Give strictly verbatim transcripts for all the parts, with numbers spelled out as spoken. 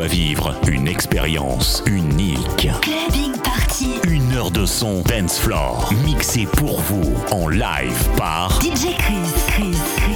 à vivre une expérience unique. Clubbing Party. Une heure de son dance floor mixé pour vous en live par D J Chris. Chris, Chris.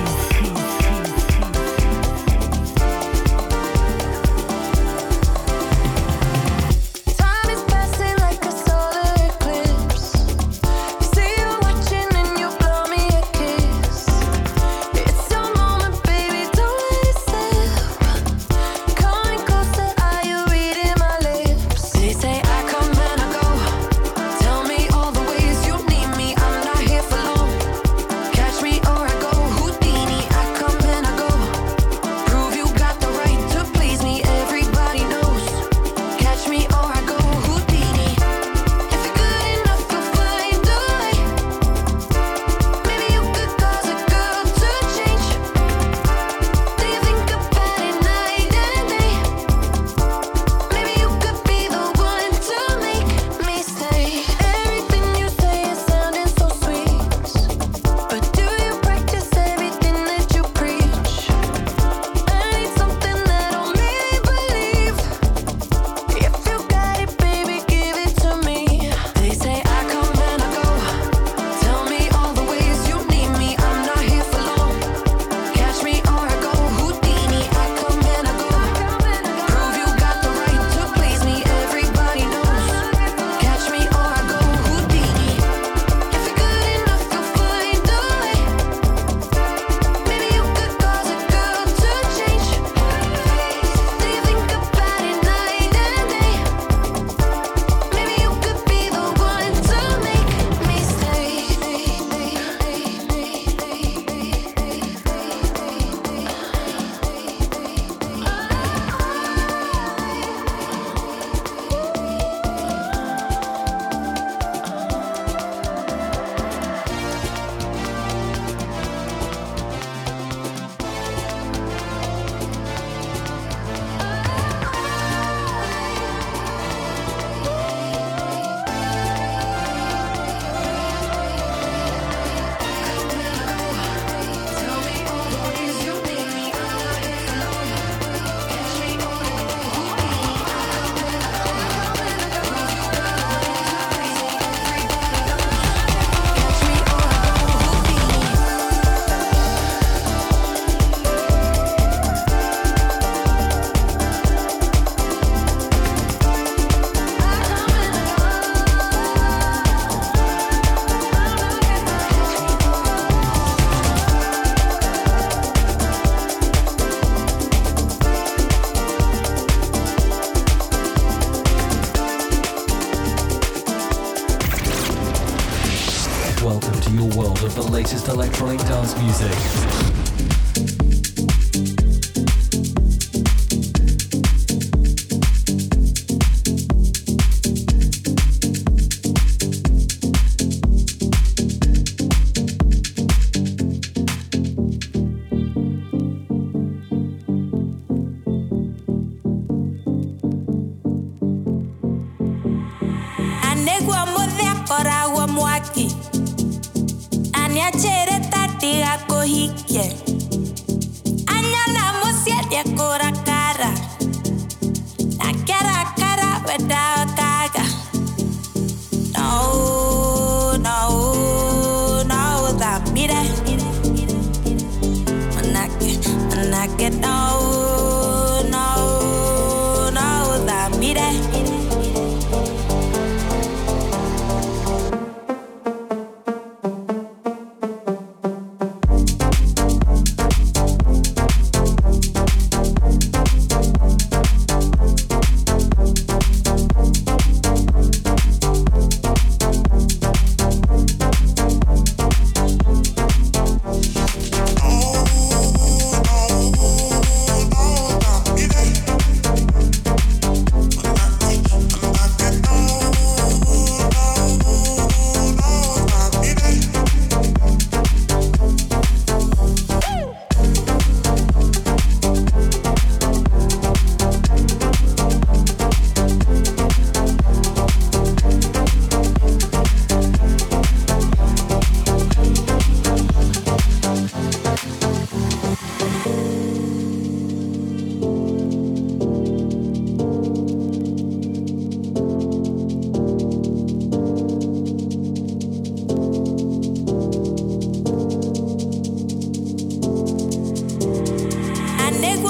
Latest electronic dance music.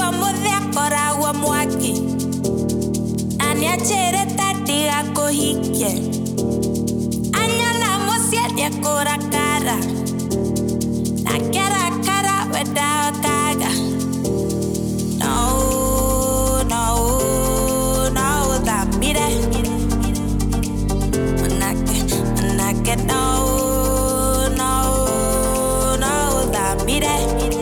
mudhia kora wa mwaki Anya chere tatiga kohike Anyala mosia dia kora kara Na kera kara weda kaga No, no, no, that mire Manake, manake, no, no, no, that mire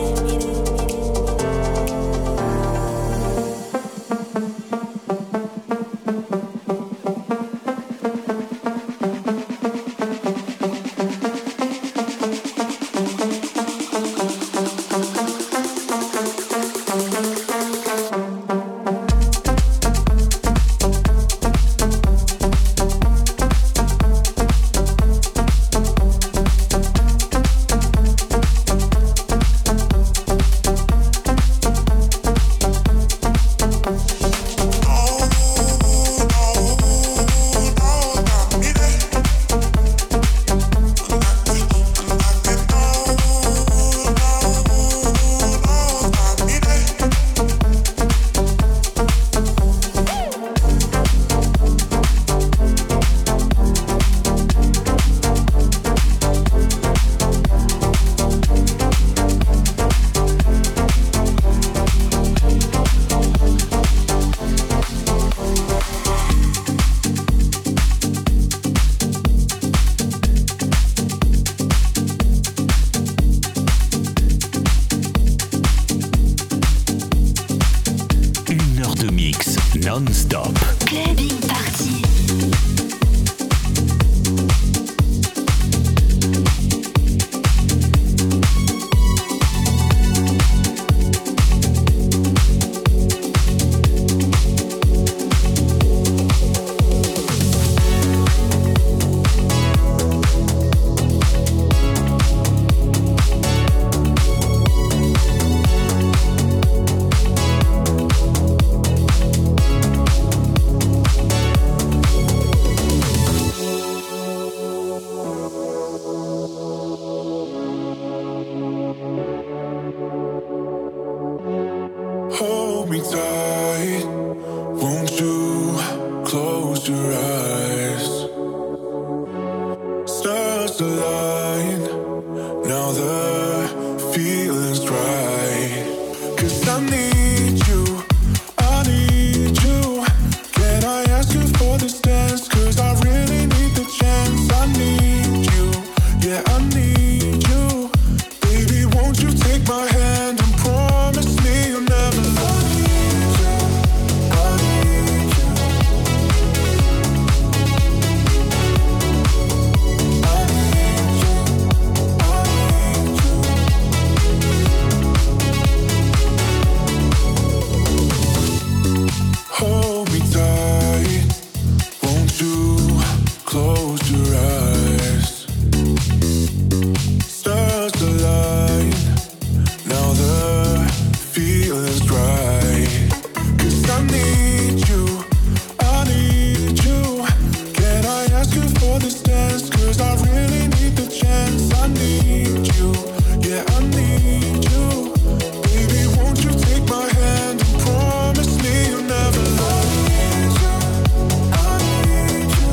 Non-stop. Clubbing Party. Hold me tight, won't you close your eyes? Stars align, now the feeling's right. 'Cause I need you, I need you. Can I ask you for this dance? 'Cause I really need the chance. I need you, yeah I need you. Baby, won't you take my hand and promise me you'll never love me? Hold me tight, won't you close your eyes? Stars align, now the feeling's right. 'Cause I need you, I need you. Can I ask you for this dance? 'Cause I really need the chance. I need you, yeah I need you. Baby, won't you take my hand and promise me you'll never love me? I need you,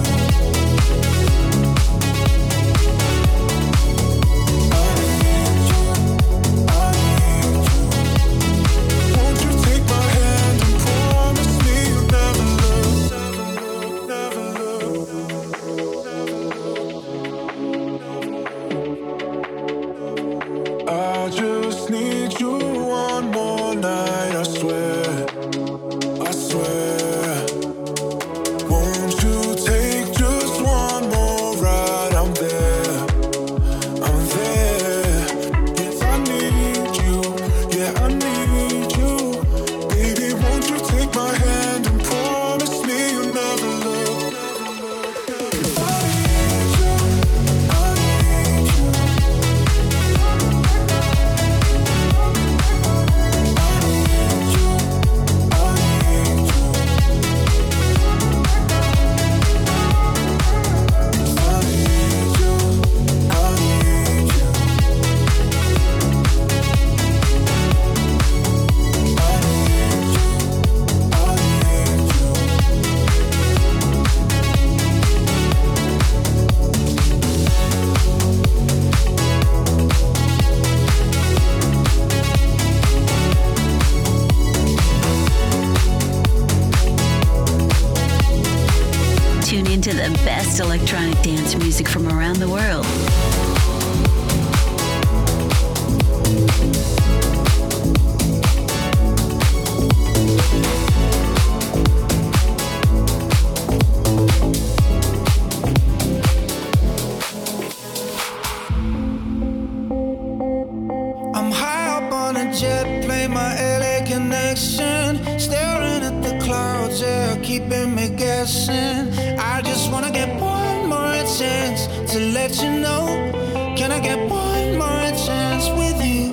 I need you, I need you. Won't you take my hand and promise me you'll never look, never look, I just need you one more night, I swear, I swear. Won't you take just one more ride? I'm there, I'm there. Yes, I need you, yeah I need you. Baby, won't you take my hand and promise me you'll never look? I need you, I need you. best electronic dance music from around the world. I'm high up on a jet plane, my L A connection, staring at the clouds, yeah, keeping me guessing. I just wanna get one more chance to let you know. Can I get one more chance with you?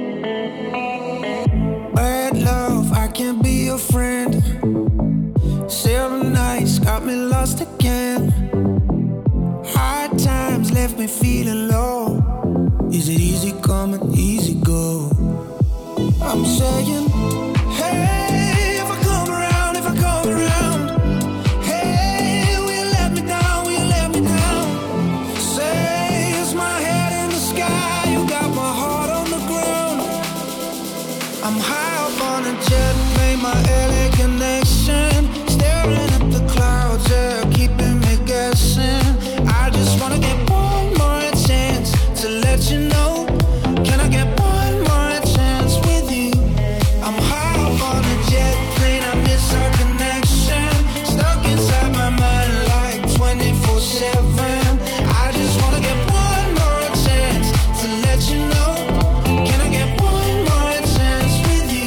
Bad love, I can't be your friend. Seven nights got me lost again. Hard times left me feeling low. Is it easy come and easy go? I'm saying, hey, if I come around, if I come around, hey, will you let me down, will you let me down? Say, is my head in the sky, you got my heart on the ground. I'm high up on a jet plane, my L A connection, staring at the clouds, yeah, keeping me guessing. I just wanna get one more chance to let you know. Can I get one more chance with you? I'm high up on a jet plane, I miss our connection. Stuck inside my mind like twenty-four seven. I just wanna get one more chance to let you know. Can I get one more chance with you?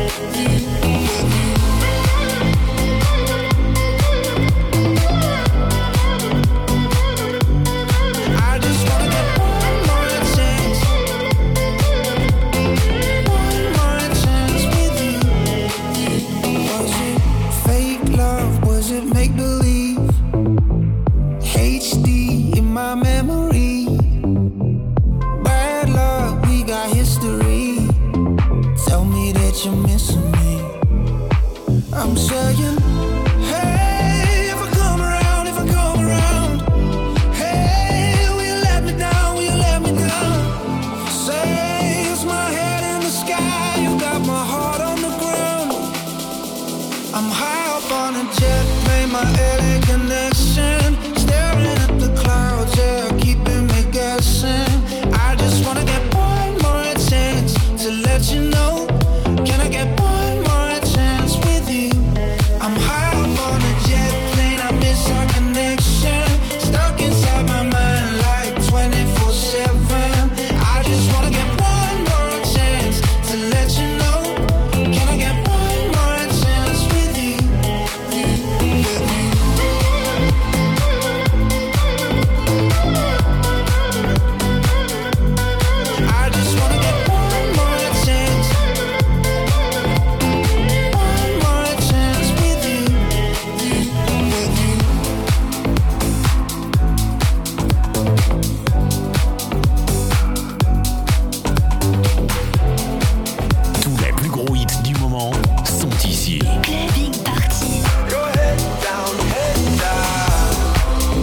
I just wanna get one more chance. One more chance with you. Was it fake love? Was it make believe? H D in my memory. Bad luck, we got history. Tell me that you're missing me. I'm saying, hey, if I come around, if I come around, hey, will you let me down, will you let me down? Say, is my head in the sky, you got my heart on the ground. I'm high up on a jet plane, my L A connection, staring at the clouds, yeah, keeping me guessing. I just wanna get one more chance to let you know. Can I get one more chance with you? I'm high up on a jet plane, I miss our connection. Stuck inside my mind like twenty-four seven. I just wanna get one more chance to let you know. Can I get one more chance with you? I just wanna get one more chance. One more chance with you. Tous les plus gros hits du moment sont ici. Clubbing Party. Your head down, head down.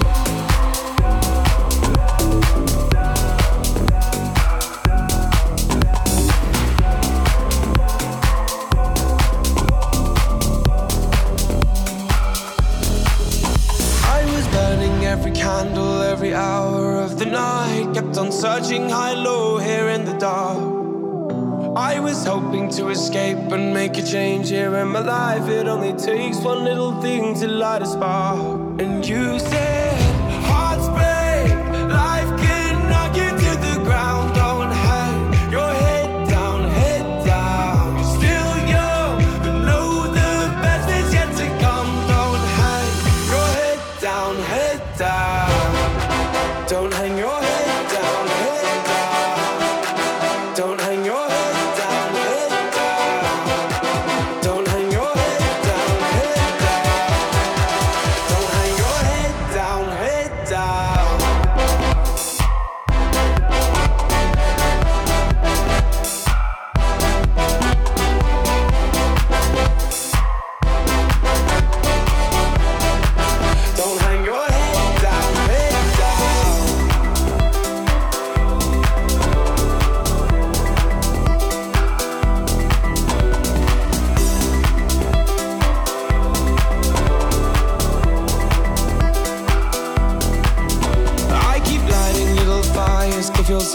I was burning every candle, every hour of the night. Kept on searching high, low, here in the dark. I was hoping to escape and make a change here in my life. It only takes one little thing to light a spark. And you said, hearts break, life can knock you to the ground. Don't hang your head down, head down. You're still young, but know the best is yet to come. Don't hang your head down, head down. Don't hang your head down, head down. Don't hang your head down, head down. Don't hang your head down, head down. Don't hang your head down,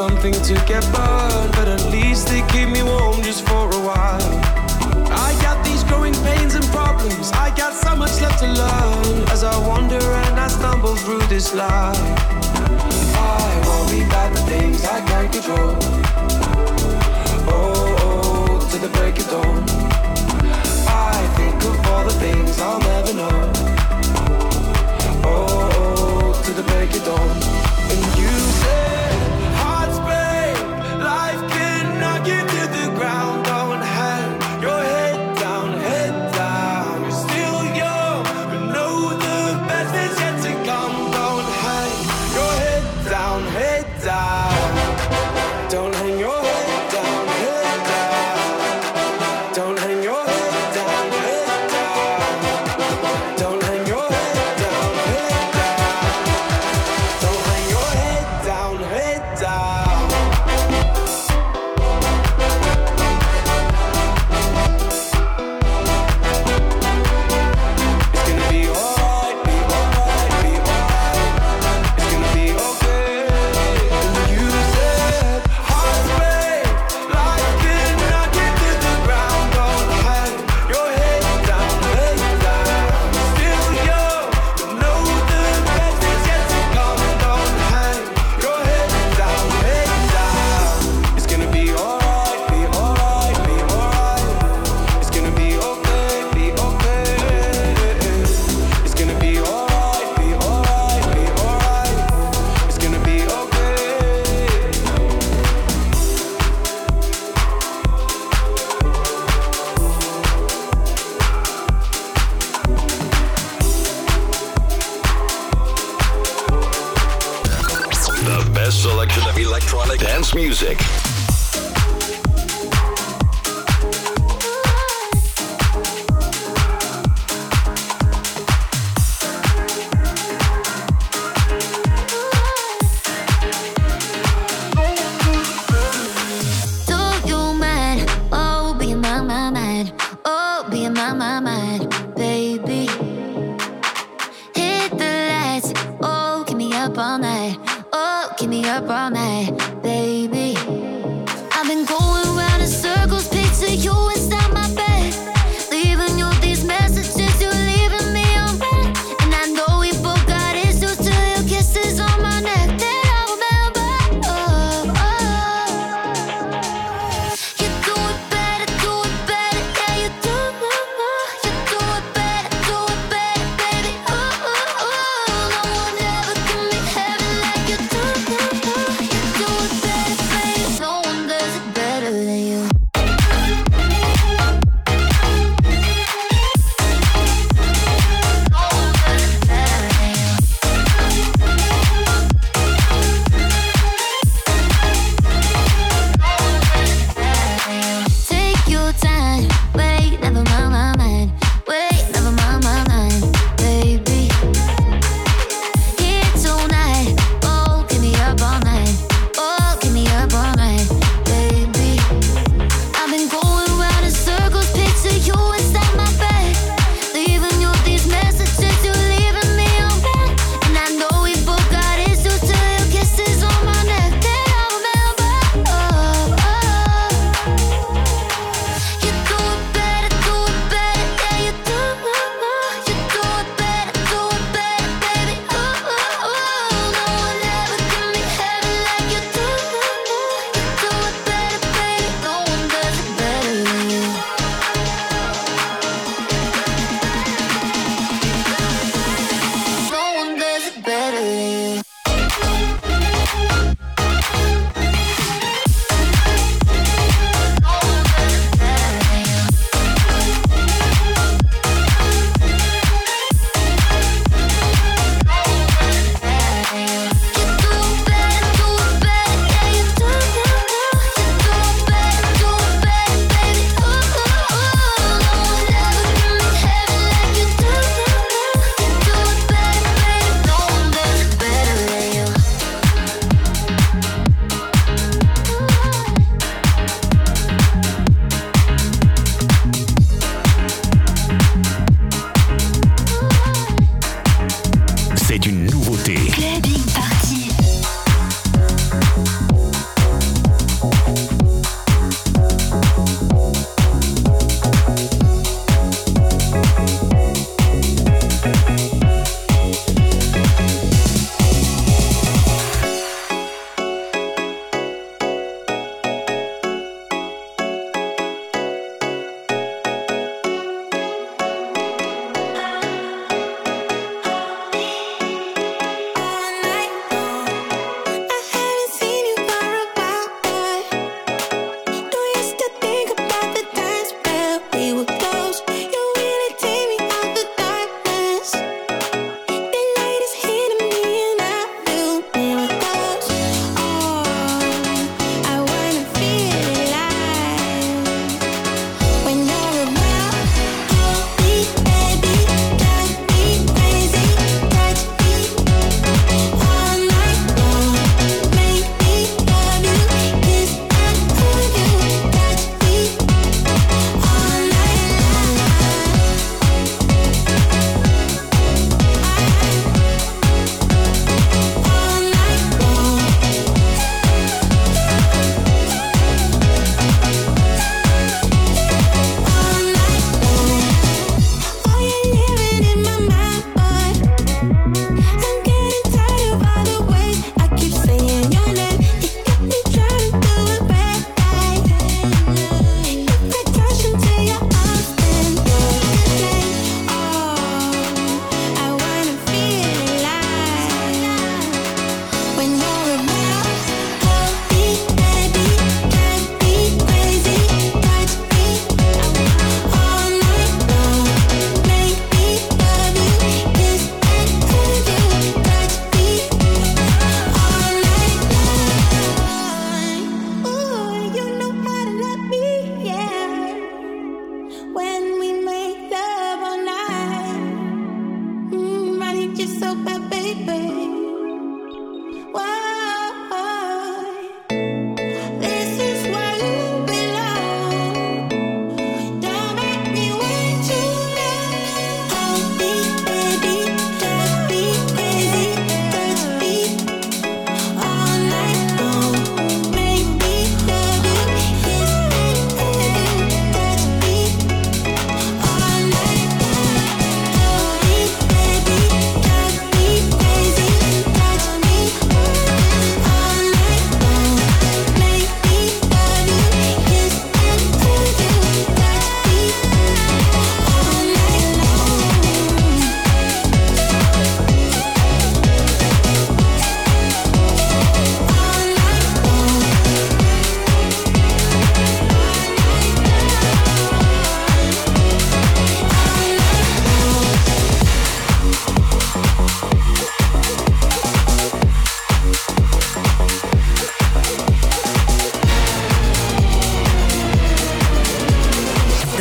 something to get burned, but at least they keep me warm just for a while. I got these growing pains and problems, I got so much left to learn as I wander and I stumble through this life. I worry about the things I can't control. Oh, oh, to the break of dawn. I think of all the things I'll never know. Oh, oh, to the break of dawn. And you say, hearts break, life can knock you to the ground. Don't hang your head down, head down. You're still young, but know the best is yet to come. Don't hang your head down, head down. Don't hang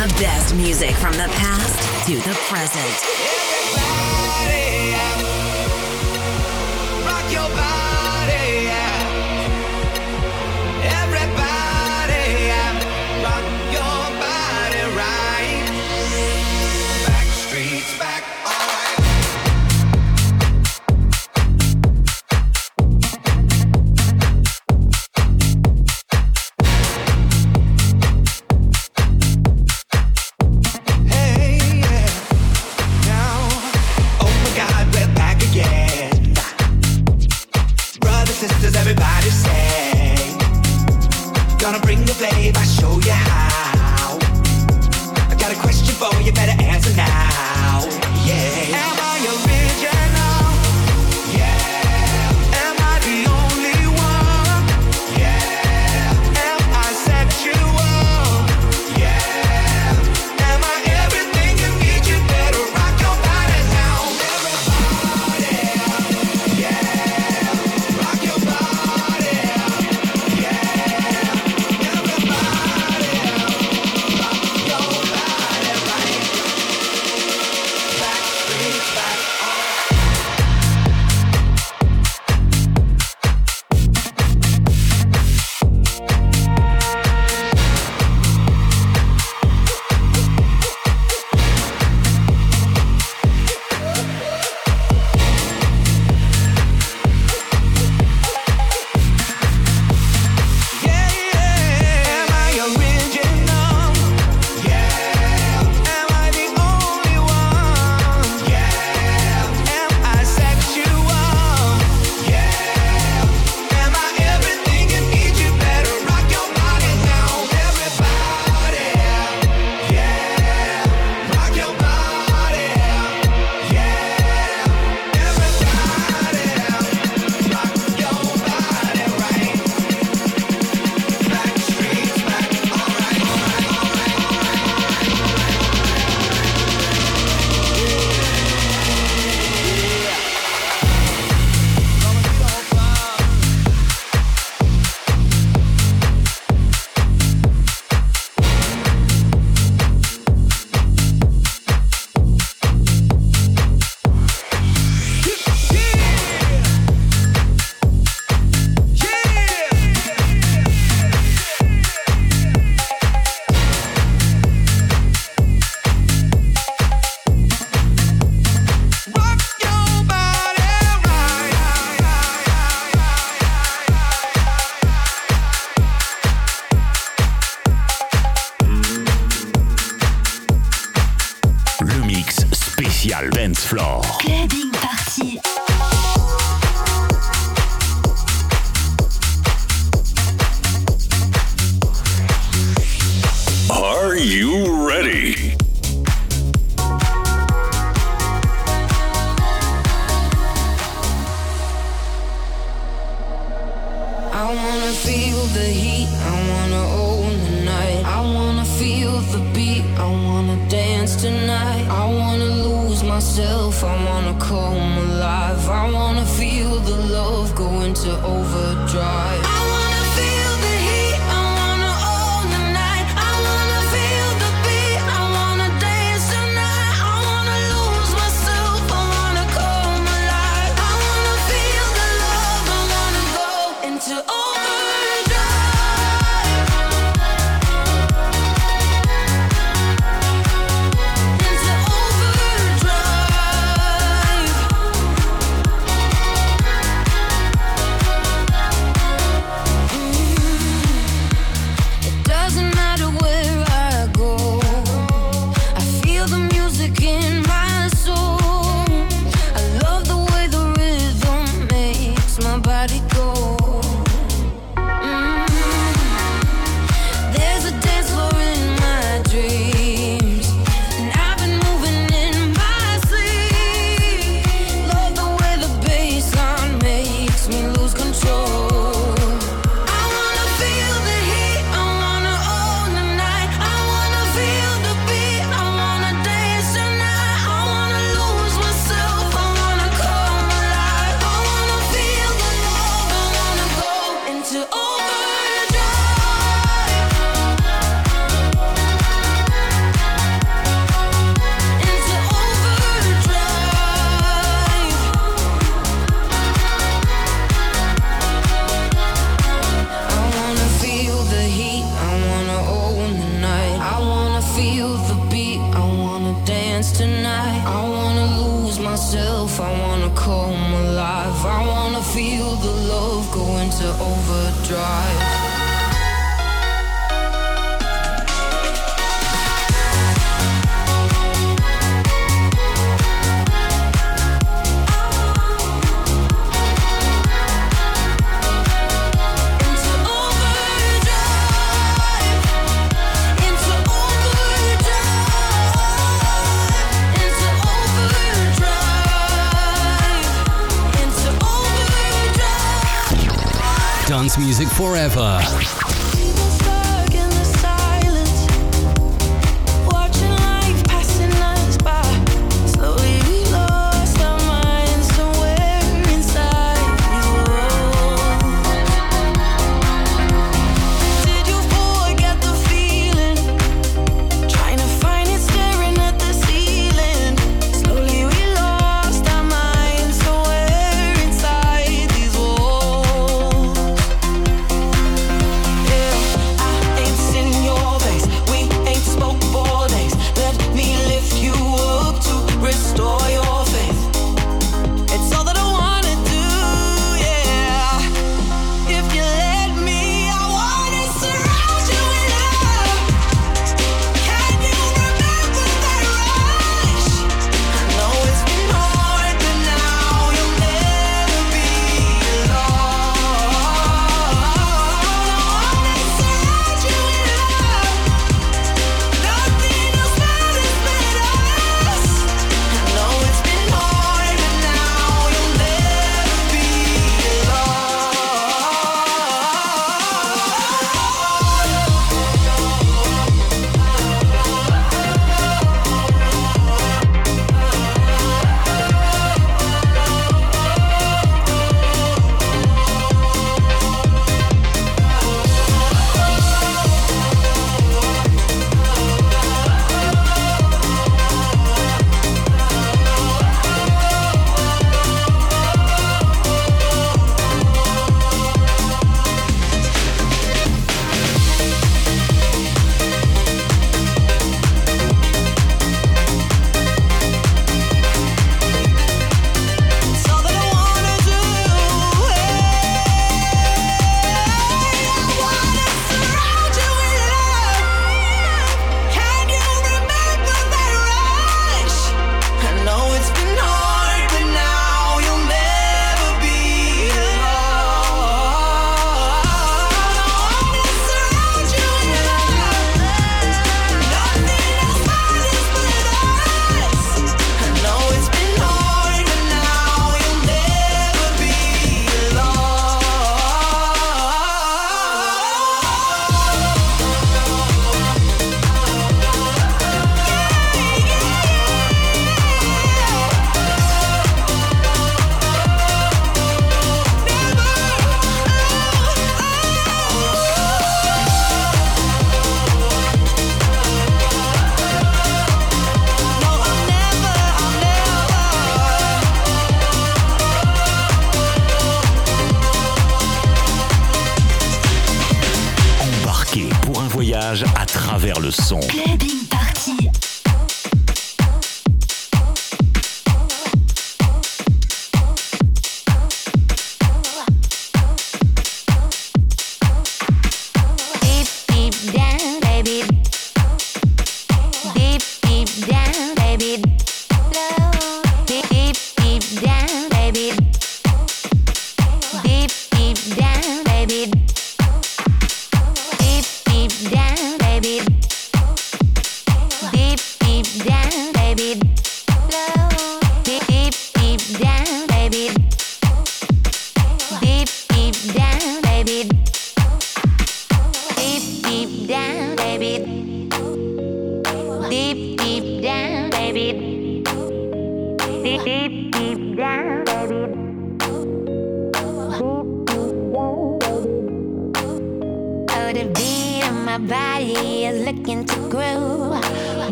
The best music from the past to the present. Everybody, rock your body, everybody, rock your body right. Backstreet's back, alright. Sisters, everybody say, gonna bring the flavor, I'll show you how. I got a question for you, better answer now. Yeah. Am I original? Yeah. Am I the only one? Yeah. Am I sexual? Yeah. Am I everything you need? You better rock your body now. Everybody, yeah. Dance Floor. Clubbing Party. Are you ready? I wanna feel the heat, I wanna own the night. I wanna feel the beat, I wanna dance tonight. I wanna lose myself, I wanna come alive. I wanna feel the love go into overdrive. I wanna feel the heat, I wanna own the night. I wanna feel the beat, I wanna dance tonight. I wanna lose myself, I wanna come alive. I wanna feel the love, I wanna go into overdrive. myself, I wanna come alive. I wanna feel the love go into overdrive. Dance music forever. À travers le son. Clubbing Party.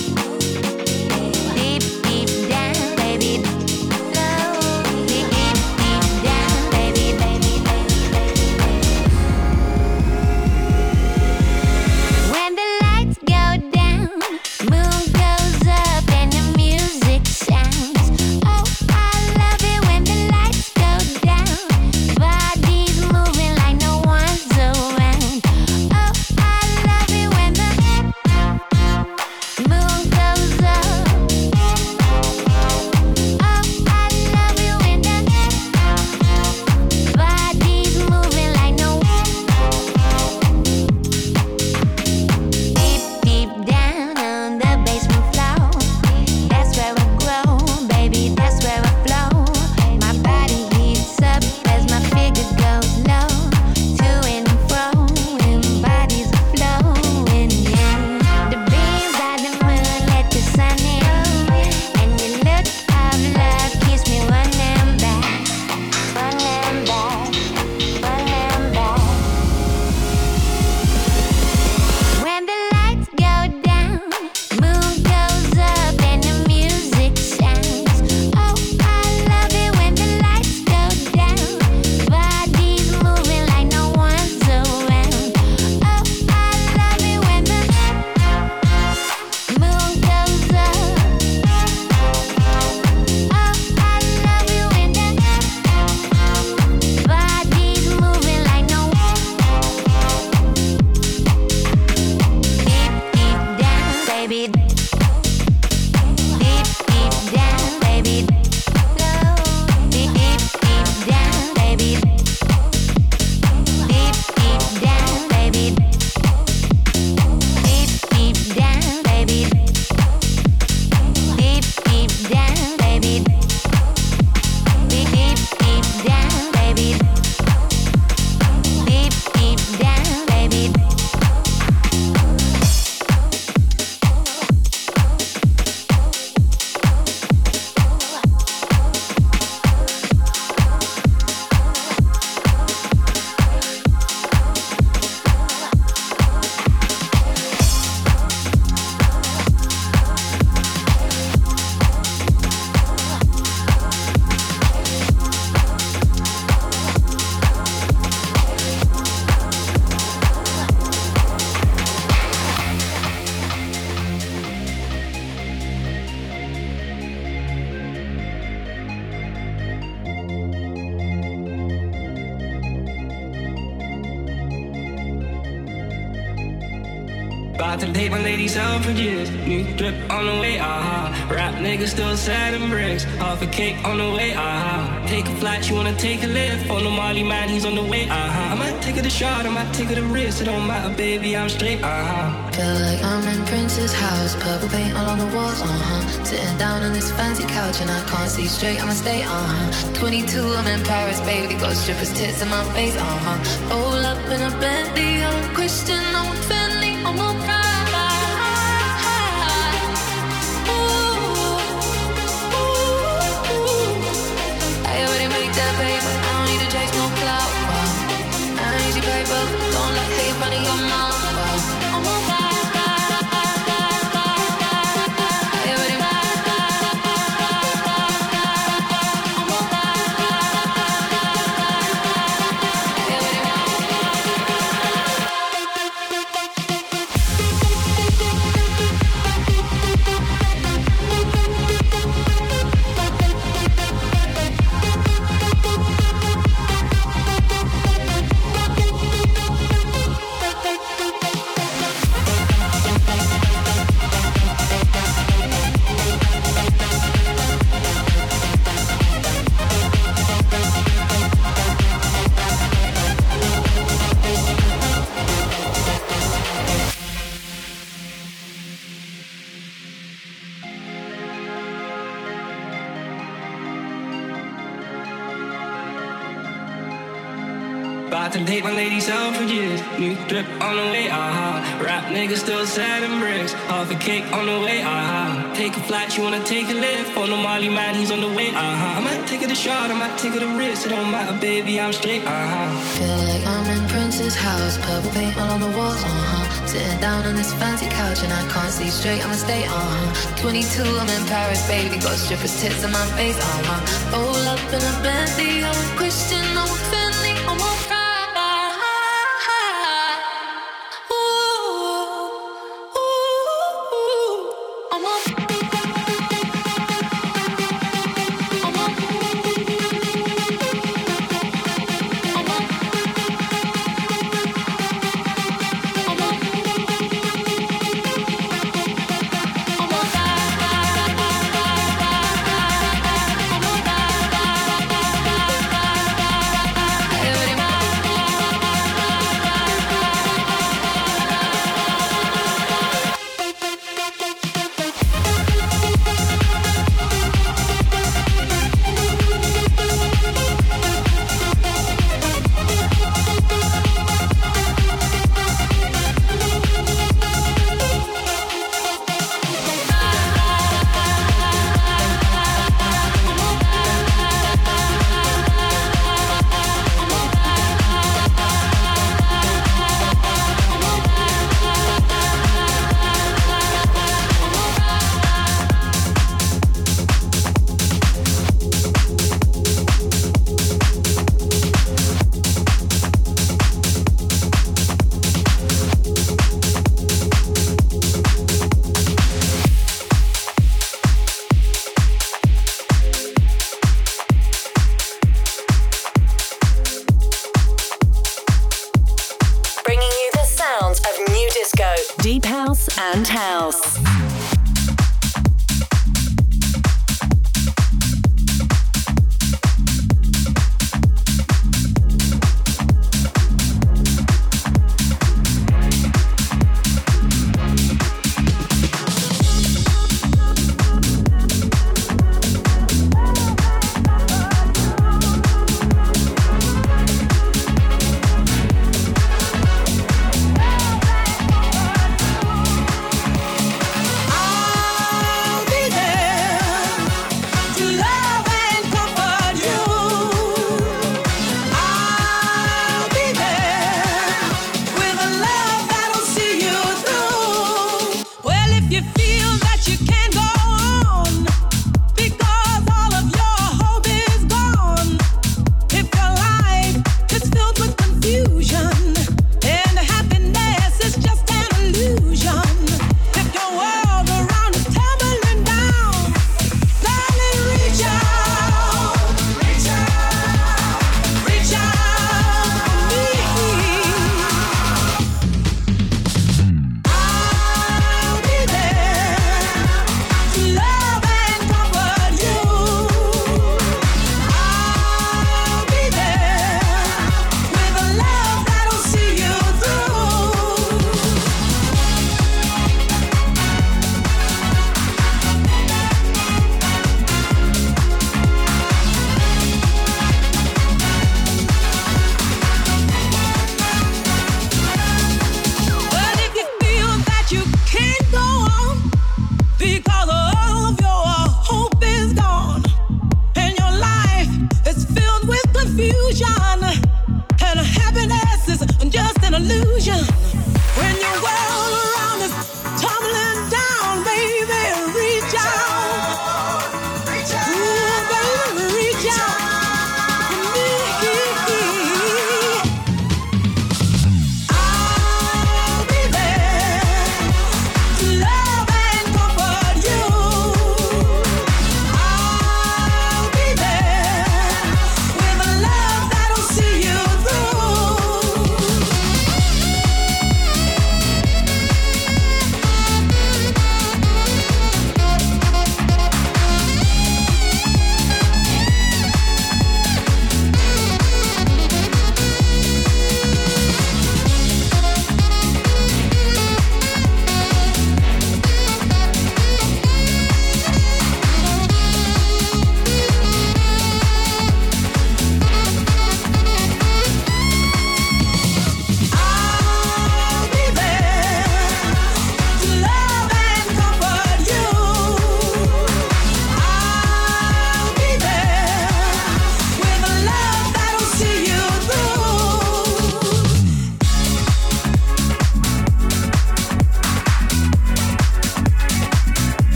Deep, deep down, baby. Low, deep, deep About to date my lady Selfridges. New drip on the way, aha. Uh-huh. Rap nigga still sad and bricks. Half a cake on the way, aha. Uh-huh. Take a flight, you wanna take a lift. On the Molly man, he's on the way, aha. Uh-huh. I might take it a shot, I might take it a risk. It don't matter, baby, I'm straight, aha. Uh-huh. Feel like I'm in Prince's house. Purple paint all on the walls, uh-huh. Sitting down on this fancy couch and I can't see straight, I'ma stay, uh-huh. twenty-two, I'm in Paris, baby. Got strippers' tits in my face, uh-huh. Roll up in a Bentley, I'm a Christian, I'm a Bentley, I'm a pride. I already made that paper, I don't need to chase no clout. Wow. I don't need your paper, don't let it in front of your mouth. Wow. I'm a ride. About to date my lady Selfridges. New drip on the way, aha. Uh-huh. Rap nigga still sad and bricks. Half a cake on the way, aha. Uh-huh. Take a flight, you wanna take a lift. On the Molly man, he's on the way, aha. Uh-huh. I might take it a shot, I might take it a risk. It don't matter, baby, I'm straight, aha. Feel like I'm in Prince's house. Purple paint all on the walls, uh-huh. Sitting down on this fancy couch and I can't see straight, I'ma stay, uh-huh. twenty-two, I'm in Paris, baby. Got strippers' tits in my face, uh-huh. Roll up in a Bentley, I'm a Christian, I'm a Bentley, I'm a pride. Deep house and house.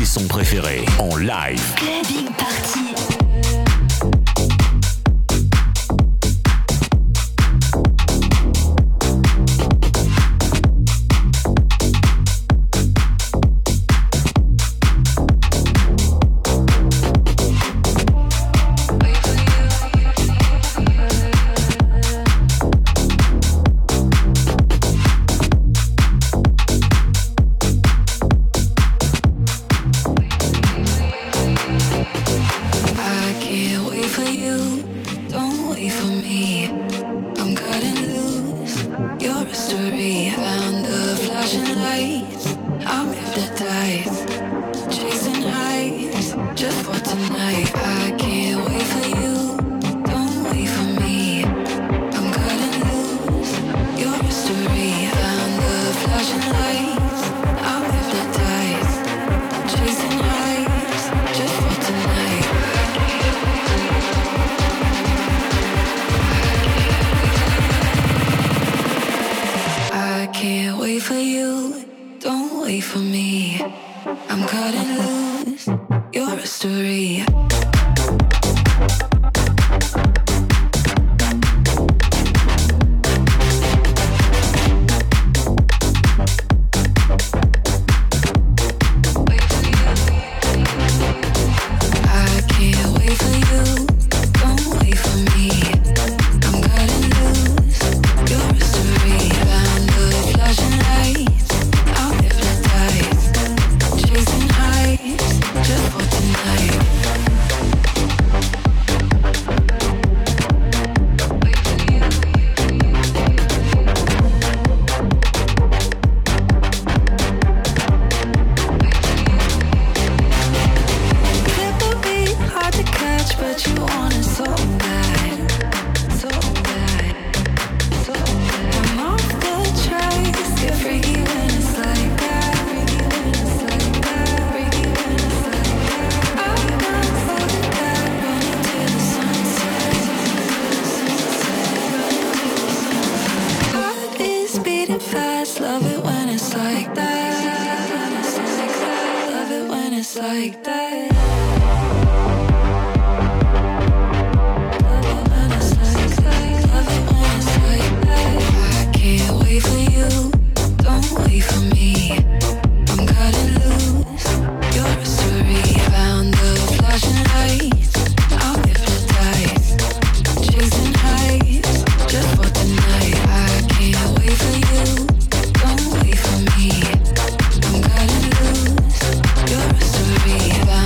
sons préférés en live. Clubbing Party. You're a story.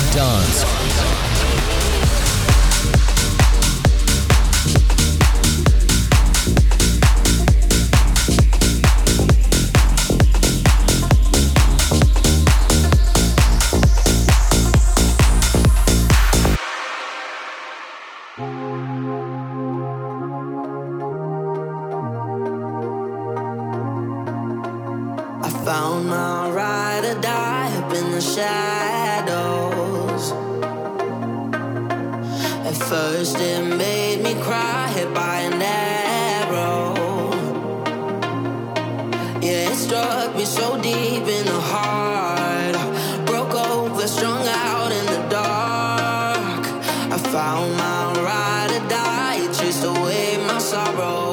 Dance. Found my ride or die up in the shadows. At first it made me cry, hit by an arrow. Yeah, it struck me so deep in the heart. Broke over, strung out in the dark. I found my ride or die, it chased away my sorrows.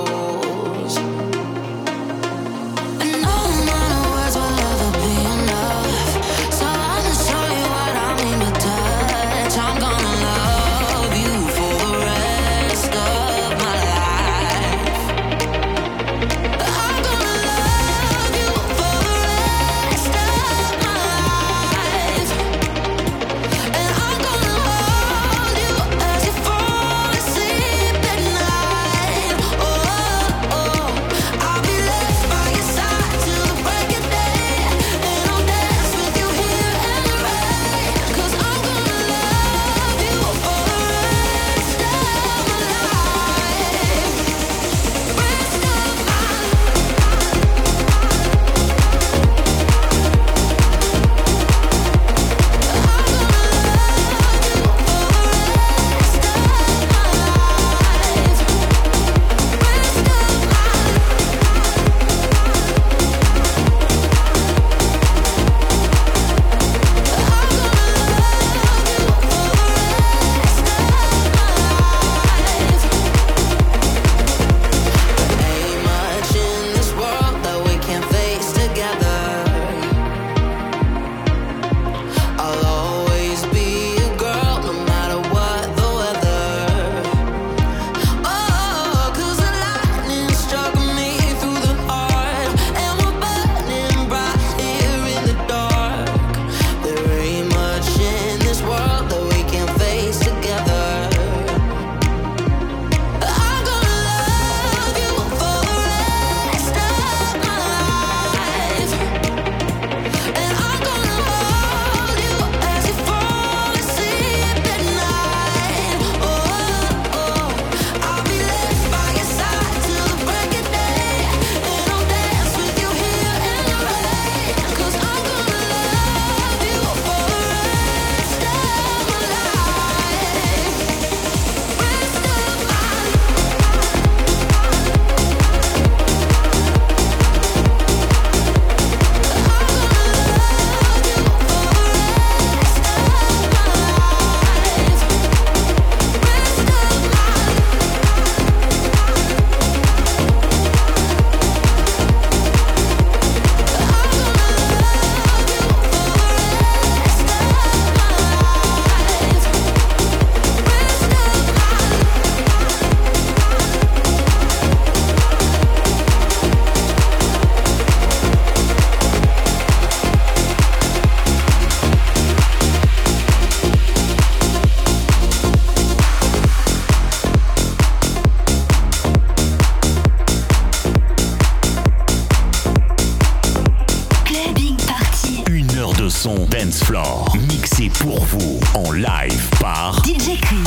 Dance Floor, mixé pour vous en live par D J Chris.